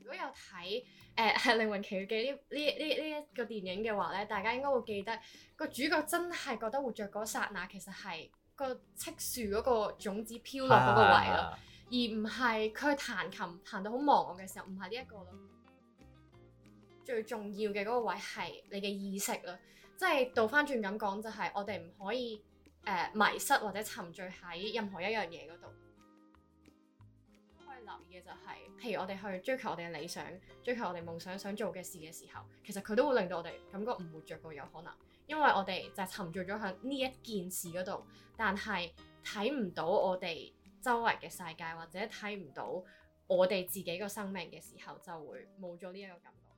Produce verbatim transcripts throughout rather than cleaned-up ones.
果有睇誒係靈魂奇遇記呢呢呢呢一個電影嘅話咧，大家應該會記得個主角真係覺得活着嗰剎那其實係個敕樹嗰個種子飄落嗰個位咯，啊、而唔係佢彈琴彈到好忘我嘅時候，唔係呢一個咯。最重要嘅嗰個位係你嘅意識咯，即係倒翻轉咁講就係我哋唔可以誒、呃、迷失或者沉醉喺任何一樣嘢嗰度。可以留意嘅就係、是，譬如我哋去追求我哋嘅理想，追求我哋夢想想做嘅事嘅時候，其實佢都會令到我哋感覺唔活着嘅有可能，因為我哋就係沉醉咗喺呢一件事嗰度，但係睇唔到我哋周圍嘅世界，或者睇唔到我哋自己個生命嘅時候，就會冇咗呢一個感覺。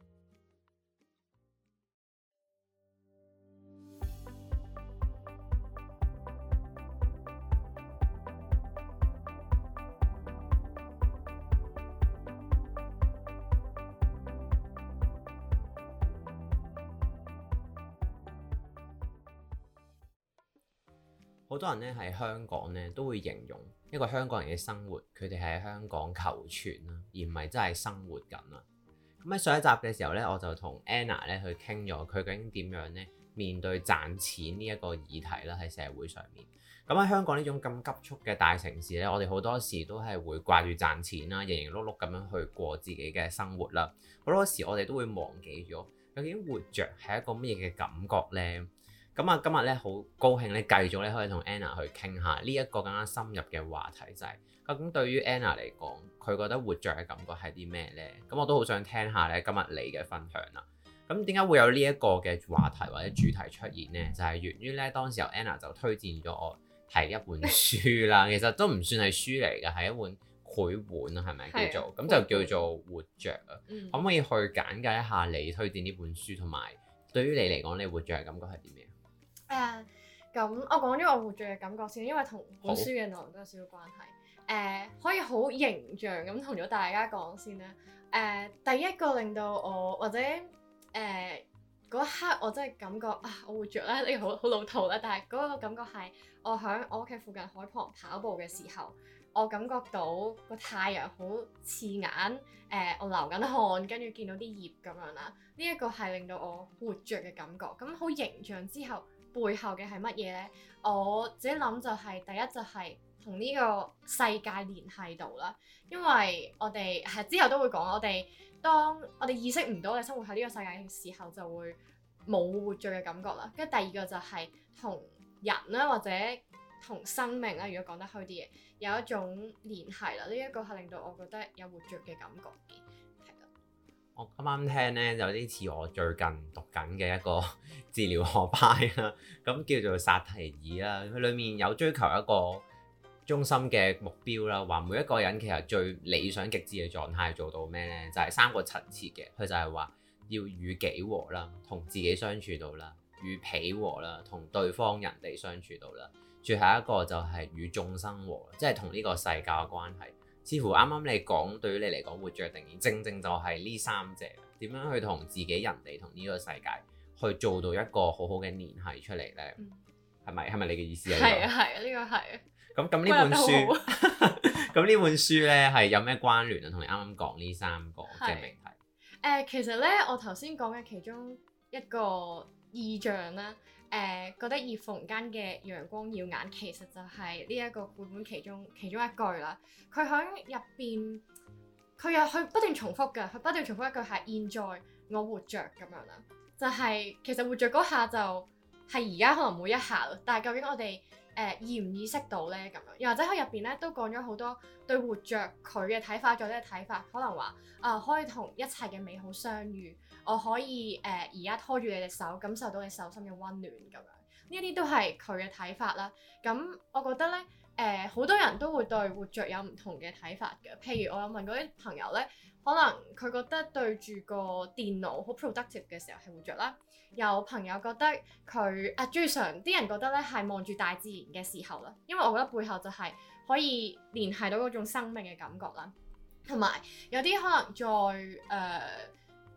好多人咧喺香港咧都會形容一個香港人嘅生活，佢哋係喺香港求存啦，而唔係真係生活緊啦。咁喺上一集嘅時候咧，我就同 Anna 咧去傾咗佢究竟點樣咧面對賺錢呢一個議題啦，喺社會上面。咁喺香港呢種咁急速嘅大城市咧，我哋好多時都係會掛住賺錢啦，營營碌碌咁樣去過自己嘅生活啦。好多時我哋都會忘記咗究竟活着係一個乜嘢嘅感覺咧。咁啊，今日咧好高興咧，繼續咧可以同 Anna 去傾下呢一個更加深入嘅話題，就係究竟對於 Anna 嚟講，佢覺得活着嘅感覺係啲咩咧？咁我都好想聽下咧今日你嘅分享啦。咁點解會有呢一個嘅話題或者主題出現咧？就係源於咧當時候 Anna 就推薦咗我睇一本書啦，其實都唔算係書嚟嘅，係一本繪本啊，係咪叫做？咁就叫做活着啊。嗯、可唔可以去簡介一下你推薦呢本書，同埋對於你嚟講，你活着嘅感覺係啲咩？ 誒咁，uh, 我講咗我活着嘅感覺先，因為同本書嘅內容都有少少關係。誒、uh, 可以好形象咁同咗大家講先啦。誒、uh, 第一個令到我或者誒嗰、uh, 一刻我真係感覺啊，我活着咧，呢個好好老土啦。但係嗰個感覺係我喺我屋企附近海旁跑步嘅時候，我感覺到個太陽好刺眼。誒、uh, 我流緊汗，跟住見到啲葉咁樣啦。呢、這、一個係令到我活着嘅感覺。咁好形象之後。背後嘅係乜嘢呢？我自己諗就係、是、第一就係同呢個世界聯繫到啦，因為我哋係之後都會講，我哋當我哋意識唔到我哋生活喺呢個世界嘅時候，就會冇活着嘅感覺啦。跟住第二個就係同人啦，或者同生命啦，如果講得開啲嘢，有一種聯繫啦。呢、這、一個係令到我覺得有活着嘅感覺嘅。 我啱啱聽咧，有啲似我最近讀緊嘅一個治療學派啦，咁叫做薩提爾啦。佢裡面有追求一個中心嘅目標啦，話每一個人其實最理想極致嘅狀態做到咩咧？就係、是、三個層次嘅。佢就係話要與己和啦，同自己相處到啦；與彼和啦，同對方人哋相處到啦；最後一個就係與眾生和，即係同呢個世界嘅關係。似乎啱啱你講，對於你嚟講活着嘅定義，正正就係呢三者點樣去同自己、人哋同呢個世界去做到一個好好嘅聯繫出嚟咧？係咪係咪你嘅意思啊？ 係啊係啊，呢個係啊。咁咁呢本書，咁呢本書咧係有咩關聯啊？同你啱啱講呢三個嘅命題。誒、 呃，其實咧，我頭先講嘅其中一個意象啦。誒、呃、覺得葉縫間嘅陽光耀眼，其實就係呢一個繪本其中其中一句啦。佢喺入邊，佢又去不斷重複嘅，佢不斷重複一句係現在我活着咁樣啦。就係、是、其實活着嗰下就係而家可能每一下，但係究竟我哋誒、呃、意唔意識到咧咁樣？又或者佢入邊咧都講咗好多對活着佢嘅睇法，或者睇法，可能話啊、呃、可以同一切嘅美好相遇。我可以誒而家拖住你隻手，感受到你手心嘅溫暖咁樣，呢一啲都係佢嘅睇法啦。咁我覺得咧，誒、呃、好多人都會對活着有唔同嘅睇法嘅。譬如我有問過啲朋友咧，可能佢覺得對住個電腦好 productive 嘅時候係活着啦。有朋友覺得佢啊，最常啲人覺得咧係望住大自然嘅時候啦，因為我覺得背後就係可以聯繫到嗰種生命嘅感覺啦。同埋有啲可能再誒。呃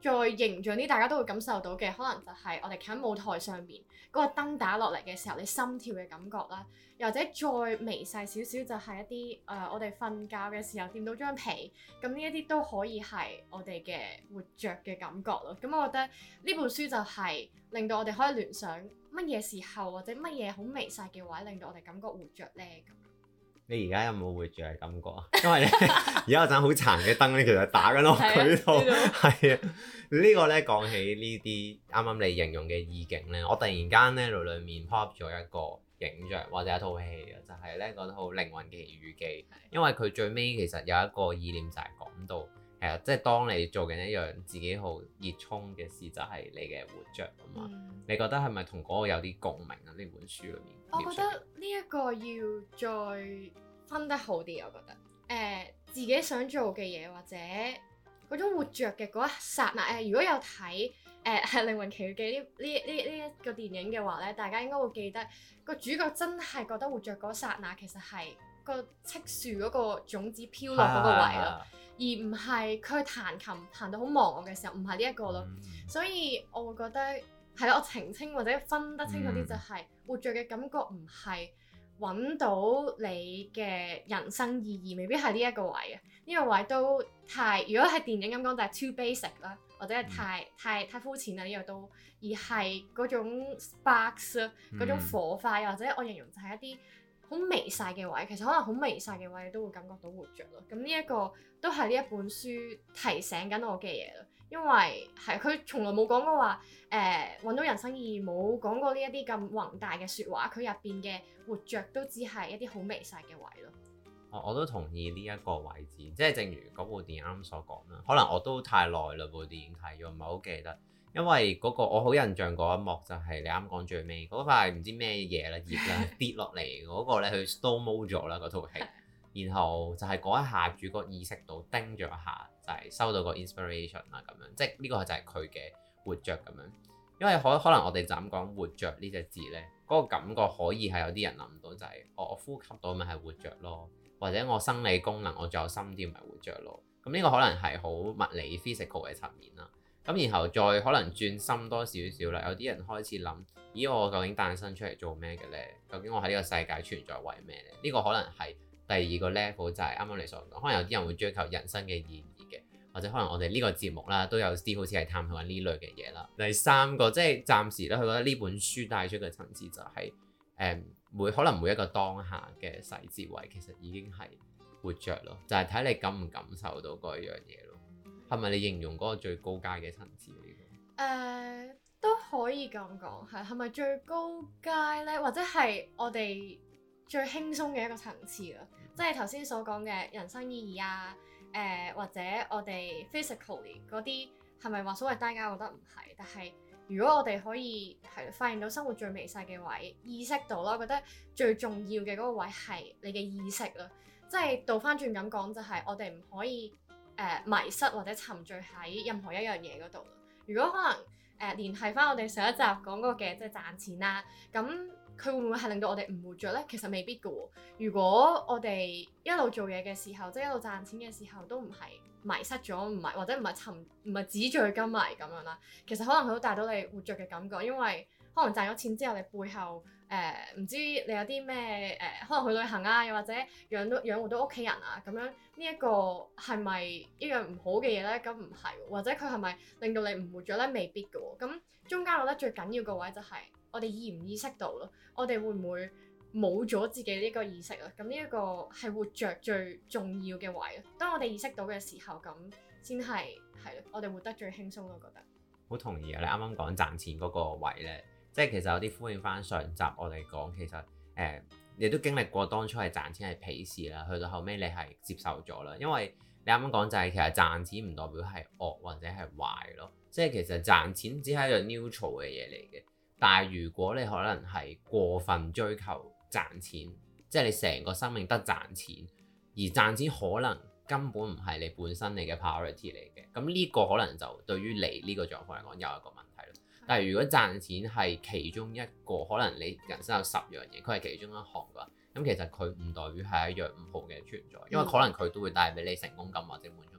再形象啲，大家都會感受到嘅，可能就係我哋企喺舞台上面嗰個燈打落嚟嘅時候，你心跳嘅感覺啦。又或者再微細少少，就係一啲誒、呃，我哋瞓覺嘅時候掂到張被，咁呢一啲都可以係我哋嘅活着嘅感覺咯。咁我覺得呢本書就係令到我哋可以聯想乜嘢時候或者乜嘢好微細嘅位，令到我哋感覺活着咧咁。 你而家有冇活着嘅感覺啊？因為咧，而家有盞好殘嘅燈咧，其實打緊落佢度。係啊，呢個咧講起呢啲啱啱你形容嘅意境咧，我突然間咧腦裡面 pop 咗一個影像或者一套戲啊，就係咧嗰套《靈魂奇遇記》。因為佢最尾其實有一個意念就係講到，誒，即係當你做緊一樣自己好熱衷嘅事，就係你嘅活着啊嘛。嗯、你覺得係咪同嗰個有啲共鳴啊？呢本書裡面， 我覺得呢一個要再分得好啲，我覺得誒、呃、自己想做嘅嘢或者嗰種活着嘅嗰一剎那誒，如果有睇誒係《靈魂奇遇記》呢呢呢呢一個電影嘅話咧，大家應該會記得個主角真係覺得活着嗰剎那其實係個漆樹嗰個種子飄落嗰個位咯，啊、而唔係佢彈琴彈到好忘我嘅時候，唔係呢一個咯，嗯、所以我會覺得係咯，我澄清或者分得清楚啲就係、嗯、活着嘅感覺唔係揾到你嘅人生意義，未必係呢一個位啊！呢、這個位都太，如果係電影咁講就係 too basic 啦，或者係太、嗯、太太膚淺啦呢個都，而係嗰種 sparks 啊，嗰種火花，嗯、或者我形容就係一啲好微細嘅位，其實可能好微細嘅位你都會感覺到活着咯。咁呢一個都係呢一本書提醒緊我嘅嘢咯。因為係佢從來冇講過話誒揾到人生意義，冇講過呢一啲咁宏大嘅説話。佢入邊嘅活着都只係一啲好微細嘅位咯。 我我都同意呢一個位置，即係正如嗰部電影啱啱所講啦。可能我都太耐啦部電影睇咗，唔係好記得。因為嗰個我好印象嗰一幕就係你啱講最尾嗰塊唔知咩嘢啦葉啦跌落嚟嗰個咧，佢 slow mo 咗啦嗰套戲。然後就係嗰一下主角意識到叮咗一下，就係、是、收到個 inspiration 啦咁樣，即係呢個就係佢嘅活着咁樣。因為可可能我哋就咁講活着呢隻字咧，嗰、那個感覺可以係有啲人諗到就係、是、我我呼吸到咪係活着咯，或者我生理功能我仲有心跳咪活着咯。咁呢個可能係好物理 physical 嘅層面啦。咁然後再可能轉深多少少啦，有啲人開始諗，咦我究竟誕生出嚟做咩嘅咧？究竟我喺呢個世界存在為咩咧？呢、這個可能係第二個 level 就係啱啱你所講，可能有啲人會追求人生嘅意義嘅，或者可能我哋呢個節目啦都有啲好似係探討緊呢類嘅嘢啦。第三個即係暫時咧，佢覺得呢本書帶出嘅層次就係、是、誒、嗯、每可能每一個當下嘅細節位其實已經係活着咯，就係、是、睇你感唔感受到嗰樣嘢咯。係咪你形容嗰個最高階嘅層次呢、這個？誒、 uh, 都可以咁講，係係咪最高階咧？或者係我哋最輕鬆嘅一個層次啦？即係頭先所講嘅人生意義啊，誒、呃、或者我哋 physically 嗰啲係咪話所謂低階？我覺得唔係，但係如果我哋可以係發現到生活最微細嘅位，意識到啦，我覺得最重要嘅嗰個位係你嘅意識啦。即係倒翻轉咁講，就係、是、我哋唔可以誒、呃、迷失或者沉醉喺任何一樣嘢嗰度。如果可能誒、呃、聯繫翻我哋上一集講過嘅，即係賺錢啦，咁。佢會唔會係令到我哋唔活着呢？其實未必㗎喎。如果我哋一路做嘢嘅時候，即係一路賺錢嘅時候，都唔係迷失咗，唔係或者唔係沉，唔係紙醉金迷咁樣啦。其實可能佢都帶到你活着嘅感覺，因為可能賺咗錢之後，你背後誒唔、呃、知你有啲咩誒，可能去旅行啊，又或者養到養活到屋企人啊，咁樣呢一個係咪一樣唔好嘅嘢呢？咁唔係，或者佢係咪令到你唔活着呢？未必㗎喎。咁中間我覺得最緊要個位就係、是。我哋意唔意識到咯？我哋會唔會冇咗自己呢個意識啊？咁呢一個係活着最重要嘅位咯。當我哋意識到嘅時候，咁先係係咯，我哋活得最輕鬆咯。我覺得好同意啊！你啱啱講賺錢嗰個位咧，即係其實有啲呼應翻上集我哋講，其實誒、呃、你都經歷過當初係賺錢係鄙視啦，去到後尾你係接受咗啦。因為你啱啱講就係其實賺錢唔代表係惡或者係壞咯，即係其實賺錢只係一樣 neutral 嘅嘢嚟嘅。但係如果你可能係過分追求賺錢，即係你成個生命得賺錢，而賺錢可能根本唔係你本身你嘅 priority 嚟嘅，咁呢個可能就對於你呢個狀況嚟講有一個問題咯。但係如果賺錢係其中一個，可能你人生有十樣嘢，佢係其中一項嘅話，咁其實佢唔代表係一樣唔好嘅存在，因為可能佢都會帶俾你成功感或者滿足感。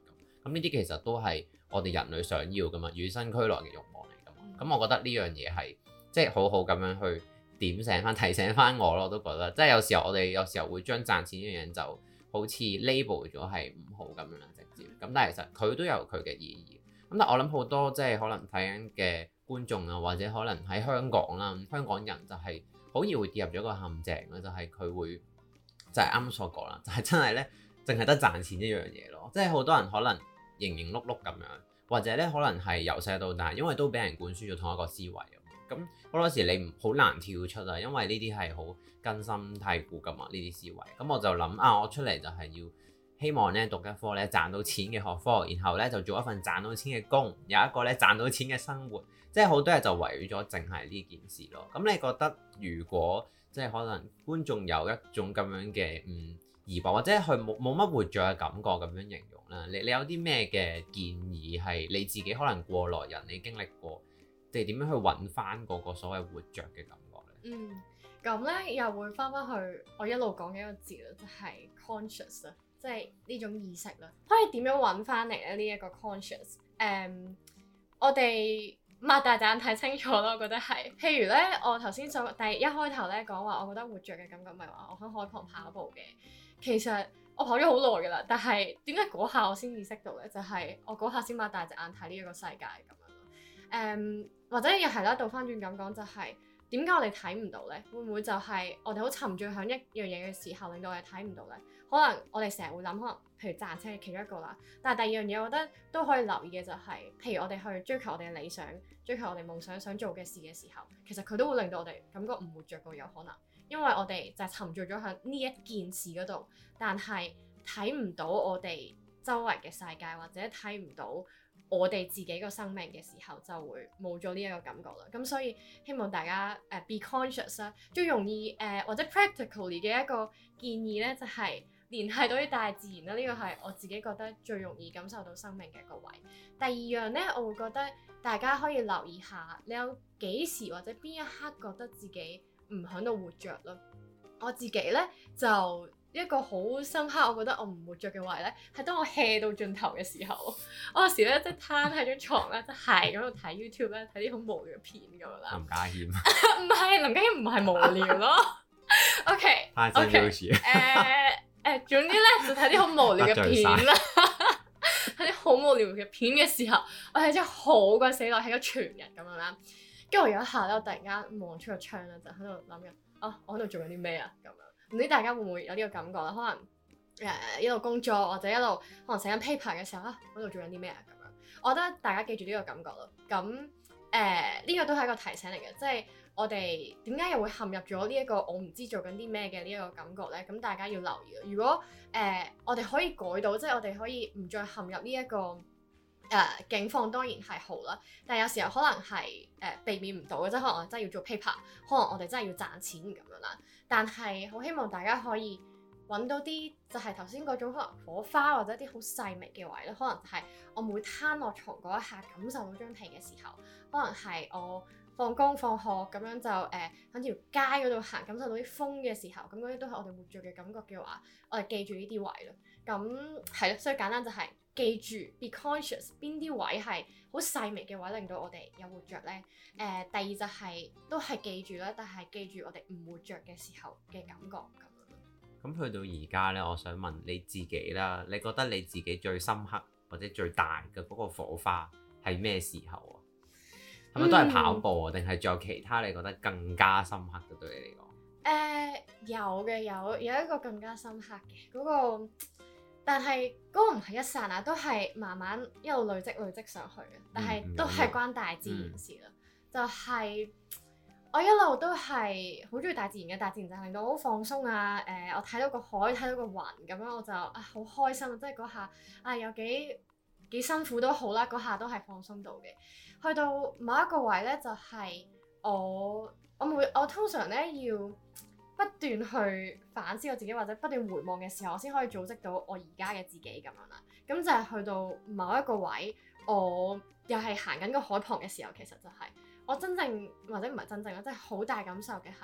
咁呢啲其實都係我哋人類想要㗎嘛，與生俱來嘅慾望嚟㗎嘛。咁、嗯、我覺得呢樣嘢係即係好好咁樣去點醒翻、提醒翻我咯，我都覺得即係有時候我哋有時候會將賺錢呢樣嘢就好似 label 咗係唔好咁樣啦，直接。咁但係其實佢都有佢嘅意義。咁但係我諗好多即係可能睇緊嘅觀眾啊，或者可能喺香港啦，香港人就係好易會跌入咗個陷阱啦，就係、是、佢會就係啱啱所講啦，就係、是、真係咧，淨係得賺錢一樣嘢咯。即係好多人可能營營碌碌咁樣，或者咧可能係由細到大，因為都俾人灌輸咗同一個思維啊。咁好多時你唔好難跳出啊，因為呢啲係好根深蒂固噶嘛，呢啲思維。咁我就諗啊，我出嚟就係要希望咧讀一科咧賺到錢嘅學科，然後咧就做一份賺到錢嘅工，有一個咧賺到錢嘅生活。即係好多嘢就圍繞咗淨係呢件事咯。咁你覺得如果即係可能觀眾有一種咁樣嘅嗯疑惑，或者佢冇冇乜活著嘅感覺咁樣形容啦，你你有啲咩嘅建議係你自己可能過來人你經歷過，即係點樣去揾翻嗰個所謂活著嘅感覺咧？ 嗯，咁咧又會翻翻去我一路講嘅一個字啦，就係 conscious 啊，即係呢種意識啦。可以點樣揾翻嚟咧？呢一個 conscious，誒，我哋擘大眼睇清楚咯，我覺得係。譬如咧，我頭先所第一開頭咧講話，我覺得活著嘅感覺咪話我喺海旁跑步嘅。其實我跑咗好耐噶啦，但係點解嗰下我先意識到咧？就係、是、我嗰下先擘大隻眼睇呢一個世界咁樣咯。誒、um，或者又係啦，倒翻轉咁講就係點解我哋睇唔到咧？會唔會就係我哋好沉醉喺一樣嘢嘅時候，令到我哋睇唔到咧？可能我哋成日會諗，可能譬如賺錢係其中一個啦。但係第二樣嘢，我覺得都可以留意嘅就係、是，譬如我哋去追求我哋嘅理想，追求我哋夢想想做嘅事嘅時候，其實佢都會令到我哋感覺唔活著過有可能，因為我哋就係沉醉咗喺呢一件事嗰度，但係睇唔到我哋周圍嘅世界，或者睇唔到我哋自己個生命嘅時候，就會冇咗呢一個感覺啦。咁所以希望大家誒、uh, be conscious 啦，最容易誒、uh, 或者 practically 嘅一個建議咧，就係、是、聯繫到啲大自然啦。呢、這個係我自己覺得最容易感受到生命嘅一個位。第二樣咧，我會覺得大家可以留意下，你有幾時或者邊一刻覺得自己唔喺度活著咯？我自己咧就一個好深刻，我覺得我唔活著嘅位咧，係當我 hea 到盡頭嘅時候，我有時咧即係攤喺張床咧，即係咁度睇 YouTube 咧，睇啲好無聊嘅片咁樣啦。林家謙唔係林家謙，唔係無聊咯。OK OK 誒誒，總之咧就睇啲好無聊嘅片啦。睇啲好無聊嘅片嘅時候，我係真係好鬼死耐，睇咗全日咁樣啦。跟住我有一下咧，我突然間望出個窗咧，就喺度諗緊啊，我喺度做緊啲咩啊咁樣。唔知大家會唔會有呢個感覺啦？可能誒、呃、一路工作或者一路可能寫緊 paper 嘅時候啊，我喺度做緊啲咩啊咁樣。我覺得大家記住呢個感覺咯。咁誒呢個都係一個提醒嚟嘅，即係我哋點解又會陷入咗呢一個我唔知做緊啲咩嘅呢一個感覺咧？咁大家要留意。如果誒、呃、我哋可以改到，即係我哋可以唔再陷入呢、這、一個誒、呃、境況，當然係好啦。但係有時候可能係誒、呃、避免唔到嘅，即係可能我真係要做 paper，可能我哋真係要賺錢咁樣啦。但係好希望大家可以揾到啲就係頭先嗰種可能火花或者啲好細微嘅位咧，可能係我每攤落床嗰一下感受到張被嘅時候，可能係我放工放學咁樣就誒喺條街嗰度行，感受到啲風嘅時候，咁嗰啲都係我哋活著嘅感覺嘅話，我哋記住呢啲位咯。咁係咯，所以簡單就係記住 be conscious 邊啲位係好細微嘅位，令到我哋有活著咧。誒、呃，第二就係、是、都係記住啦，但係記住我哋唔活著嘅時候嘅感覺咁樣。 咁去到而家咧，我想問你自己啦，你覺得你自己最深刻或者最大嘅嗰個火花係咩時候啊？係咪都係跑步啊？定係仲有其他你覺得更加深刻嘅對你嚟講？誒、 呃，有嘅，有有一個更加深刻嘅嗰、那個。但係嗰個唔係一剎那，都係慢慢一路累積累積上去嘅。但係都係關大自然事啦。嗯、就係我一路都係好中意大自然嘅，大自然就係令到我好放鬆啊！誒、呃，我睇到個海，睇到個雲咁樣，我就啊好開心啊！即係嗰下啊，有幾幾辛苦都好啦，嗰下都係放鬆到嘅。去到某一個位咧，就係、是、我我每我通常咧要不斷去反思我自己，或者不斷回望嘅時候，我先可以組織到我而家嘅自己咁樣啦。咁就係去到某一個位，我又係行緊個海旁嘅時候，其實就係我真正或者唔係真正啦，即係好大感受嘅係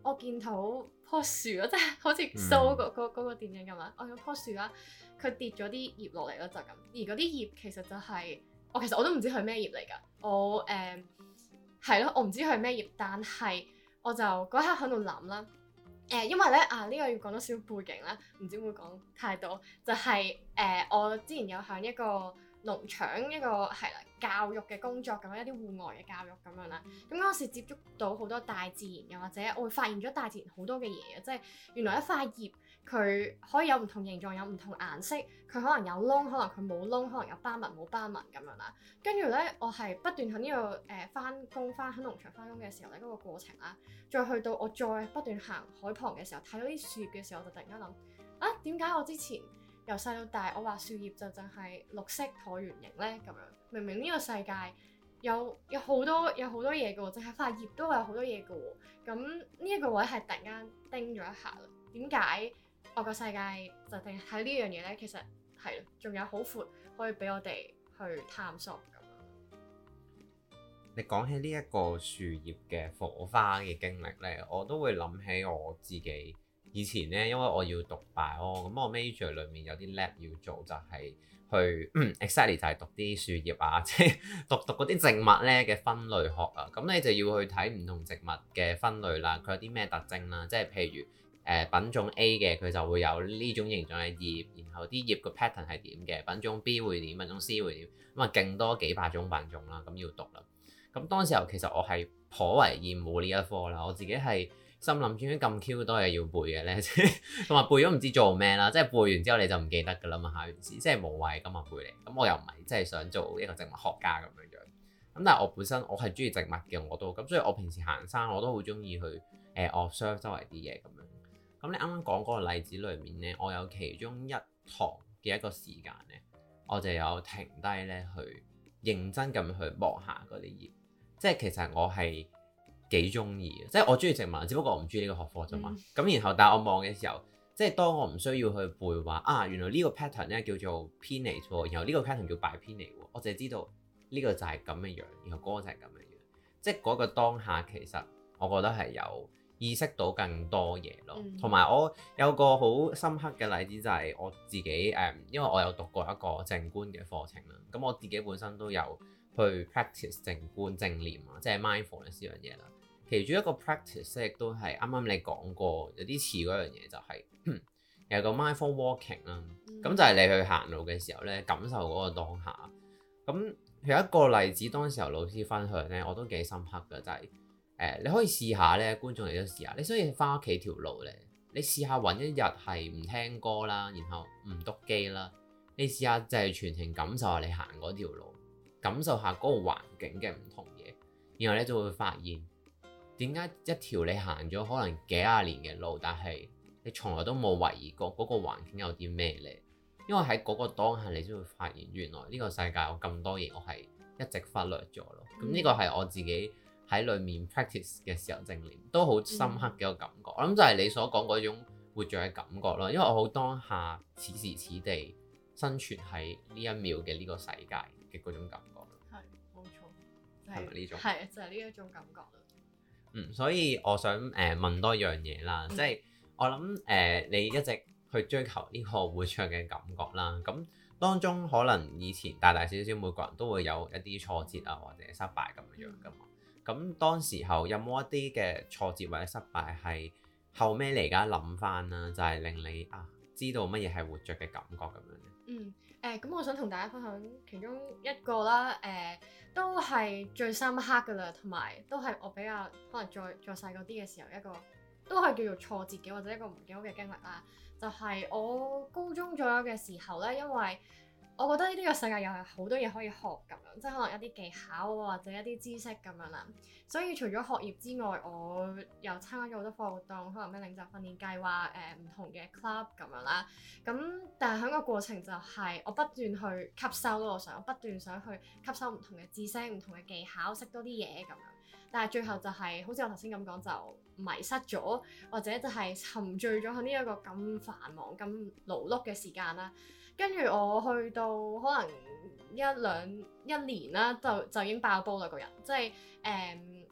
我見到棵樹咯，即係好似 Soul 嗰嗰嗰個電影咁啦。我有棵樹啦，佢跌咗啲葉落嚟咯，就咁。而嗰啲葉其實就係、是、我其實我都唔知佢係咩葉嚟㗎。我誒係咯，我唔知佢係咩葉，但係我就嗰刻喺度諗啦。誒、呃，因為咧啊，呢、這個要講多少背景啦，唔知會講太多。就係、是、誒、呃，我之前有響一個農場一個係啦教育嘅工作咁樣，一啲戶外嘅教育咁樣啦。咁嗰時接觸到好多大自然，又或者我會發現咗大自然好多嘅嘢啊，即係原來一塊葉佢可以有唔同形狀，有唔同顏色，佢可能有窿，可能佢冇窿，可能有斑紋冇斑紋咁樣啦。跟住咧，我係不斷喺呢個誒翻工翻喺農場翻工嘅時候咧，嗰、那個過程啦，再去到我再不斷行海旁嘅時候，睇到啲樹葉嘅時候，我就突然間諗啊，點解我之前由細到大，我話樹葉就淨係綠色橢圓形咧咁樣，明明呢個世界有有好多有好多嘢嘅喎，淨係塊葉都有好多嘢嘅喎。咁呢一個位係突然間叮咗一下啦。點解我個世界就定喺呢樣嘢咧？其實係咯，仲有好闊可以俾我哋去探索咁樣。 你講起呢一個樹葉嘅火花嘅經歷咧，我都會諗起我自己。以前咧，因為我要讀 bio，咁我 major 裏面有啲 lab 要做，就係、是、去、嗯、exactly 就係讀啲樹葉啊，即係讀讀嗰啲植物咧嘅分類學啊。咁你就要去睇唔同植物嘅分類啦，佢有啲咩特徵啦？即係譬如誒、呃、品種 A 嘅，佢就會有呢種形狀嘅葉，然後啲葉個 pattern 係點嘅，品種 B 會點，品種 C 會點，咁啊勁多幾百種品種啦，咁要讀啦。咁當時候其實我係頗為厭惡呢一科啦，我自己係心諗點解咁 Q 多嘢要背嘅咧？同埋背咗唔知做咩啦，即係背完之後你就唔記得㗎啦嘛，考完試即係無謂咁啊背嚟。咁我又唔係即係想做一個植物學家咁樣樣。咁但係我本身我係中意植物嘅，我都咁，所以我平時行山我都好中意去誒、呃、observe 周圍啲嘢咁樣。咁你啱啱講嗰個例子裏面咧，我有其中一堂嘅一個時間咧，我就有停低咧去認真咁去望下嗰啲葉，即係其實我係幾中意嘅，即係我中意植物，只不過我唔中意呢個學科啫嘛。咁、嗯、然後，但係我望嘅時候，即係當我唔需要去背話啊，原來呢個 pattern 咧叫做 pinnate 喎，然後呢個 pattern 叫 bipinnate 喎，我淨係知道呢個就係咁嘅樣，然後嗰個就係咁嘅樣。即係嗰個當下，其實我覺得係有意識到更多嘢咯。同埋、嗯、我有個好深刻嘅例子就係我自己誒，因為我有讀過一個靜觀嘅課程啦。咁我自己本身都有去 practice 靜觀正念啊，即係 mindfulness 呢樣嘢啦。其中一個 practice 亦都係啱啱你講過有啲似嗰樣嘢，就係、是、有個 mindful walking 啦。咁、嗯、就係你去行路嘅時候咧，感受嗰個當下。咁有一個例子，當時候老師分享咧，我都幾深刻嘅，就係、是、誒、呃、你可以試下咧，觀眾你都試下，你所以翻屋企條路咧，你試下揾一日係唔聽歌啦，然後唔篤機啦，你試下就係全程感受下你行嗰條路，感受下嗰個環境嘅唔同嘢，然後你就會發現。點解一條你行咗可能幾廿年嘅路，但係你從來都冇懷疑過嗰個環境有啲咩呢？因為喺嗰個當下，你先會發現原來呢個世界有咁多嘢，我係一直忽略咗咯。咁呢、嗯、個係我自己喺裡面 practice 嘅時候正念都好深刻嘅一個感覺。嗯、我諗就係你所講嗰種活著嘅感覺咯。因為我好當下此時此地生存喺呢一秒嘅呢個世界嘅嗰種感覺。係冇錯，係咪呢種？係就係呢一種感覺。嗯，所以我想誒、呃、問多樣嘢啦，嗯、即係我諗誒、呃、你一直去追求呢個活著嘅感覺啦，咁當中可能以前大大小小每個人都會有一啲挫折啊或者失敗咁樣樣噶嘛，咁、嗯、當時候有冇一啲嘅挫折或者失敗係後尾嚟而家諗翻啦，就係、是、令你啊知道乜嘢係活著嘅感覺咁樣咧？嗯。誒咁、呃，我想同大家分享其中一個啦，誒、呃、都係最深刻㗎啦，同埋都係我比較可能再再細個啲嘅時候一個都係叫做挫折嘅或者一個唔幾好嘅經歷啦。就係、是、我高中左右嘅時候咧，因為我覺得呢個世界又係好多嘢可以學咁樣，即係可能一啲技巧或者一啲知識咁樣啦。所以除咗學業之外，我又參加咗好多課活動，可能咩領袖訓練計劃，誒、呃、唔同嘅 club 咁樣啦。咁但係喺個過程就係我不斷去吸收咯，我想我不斷想去吸收唔同嘅知識、唔同嘅技巧，識多啲嘢咁樣。但係最後就係、是、好似我頭先咁講，就迷失咗，或者就係沉醉咗喺呢一個咁繁忙、咁勞碌嘅時間啦。跟住我去到可能一兩一年啦，就就已經爆煲啦個人，即係誒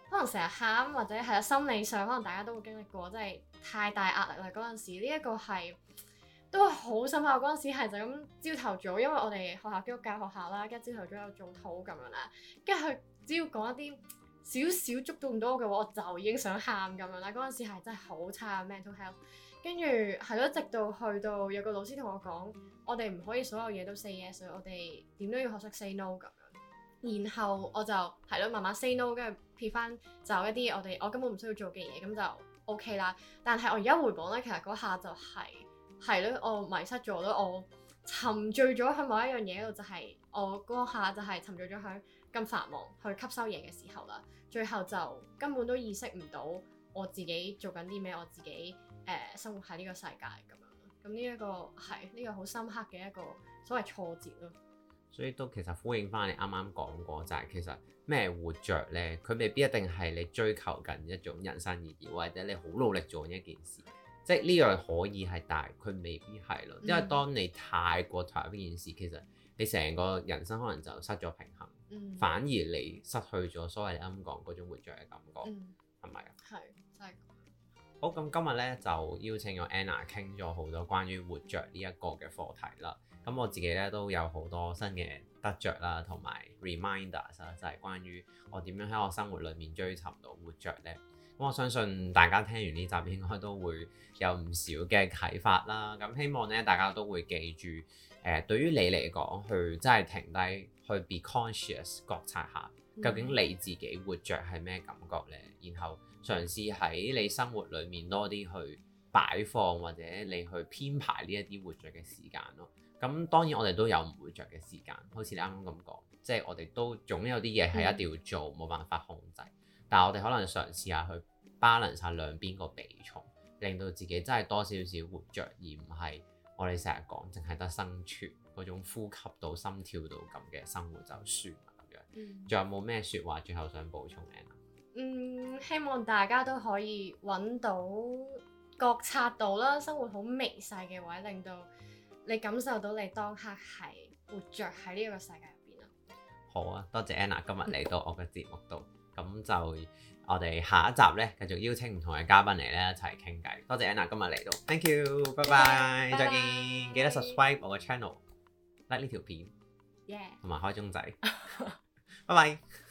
可能成日喊或者係啊心理上可能大家都會經歷過，真係太大壓力啦嗰陣時。呢、這、一個係都係好深刻。嗰陣時係就咁朝頭早，因為我哋學校基督教學校啦，跟住朝頭早有做禱咁樣啦，跟住佢只要講一啲少少觸動到我嘅話，我就已經想喊咁樣啦。嗰陣時係真係好差 mental health。跟住係咯，直到去到有個老師同我講，我哋唔可以所有嘢都 say yes，所以我哋點都要學識 say no 咁樣。然後我就係咯，慢慢 say no，跟住撇翻就一啲我哋我根本唔需要做嘅嘢，咁就 OK 啦。但係我而家回望咧，其實嗰下就係係咯，我迷失咗咯，我沉醉咗喺某一樣嘢度，就係、是、我嗰下就係沉醉咗喺咁繁忙去吸收嘢嘅時候啦。最後就根本都意識唔到我自己做緊啲咩，我自己。誒、呃、生活喺呢個世界咁樣咯，咁呢一個係呢、呢個好深刻嘅一個所謂挫折咯。 所以都其實呼應翻你啱啱講過，就係、是、其實咩活着咧，佢未必一定係你追求緊一種人生意義，或者你好努力做一件事，即係呢樣可以係，但係佢未必係咯。因為當你太過投入呢件事，其實你成個人生可能就失咗平衡，嗯、反而你失去咗所謂你啱啱講嗰種活着嘅感覺，係咪啊？係真係。好，咁今日咧就邀請咗 Anna 傾咗好多關於活着呢一個嘅課題啦。咁我自己咧都有好多新嘅得着啦，同埋 reminders 啦，就係關於我點樣喺我生活裏面追尋到活着咧。咁我相信大家聽完呢集應該都會有唔少嘅啟發啦。咁希望咧大家都會記住，誒、呃、對於你嚟講，去真係停低去 be conscious 覺察下，究竟你自己活着係咩感覺咧？然後嘗試喺你生活裏面多啲去擺放，或者你去編排呢一啲活着嘅時間咯。咁當然我哋都有唔活着嘅時間，好似你啱啱咁講，即係我哋都總有啲嘢係一定要做，冇、嗯、辦法控制。但係我哋可能嘗試下去 balance 下兩邊個比重，令到自己真係多少少活着，而唔係我哋成日講淨係得生存嗰種呼吸到心跳到咁嘅生活就算啦咁樣。仲、嗯、有冇咩説話最後想補充嘅？ 嗯，希望大家都可以揾到覺察到啦，生活好微細嘅位，令到你感受到你當刻係活着喺呢一個世界入邊啊。 好啊，多謝 Anna 今日嚟到我嘅節目度，咁、嗯、就我哋下一集咧繼續邀請唔同嘅嘉賓嚟咧一齊傾偈。多謝 Anna 今日嚟到 ，Thank you，拜拜，再見，記得 subscribe 我嘅 channel，like 呢條片，同埋開鐘仔，拜拜。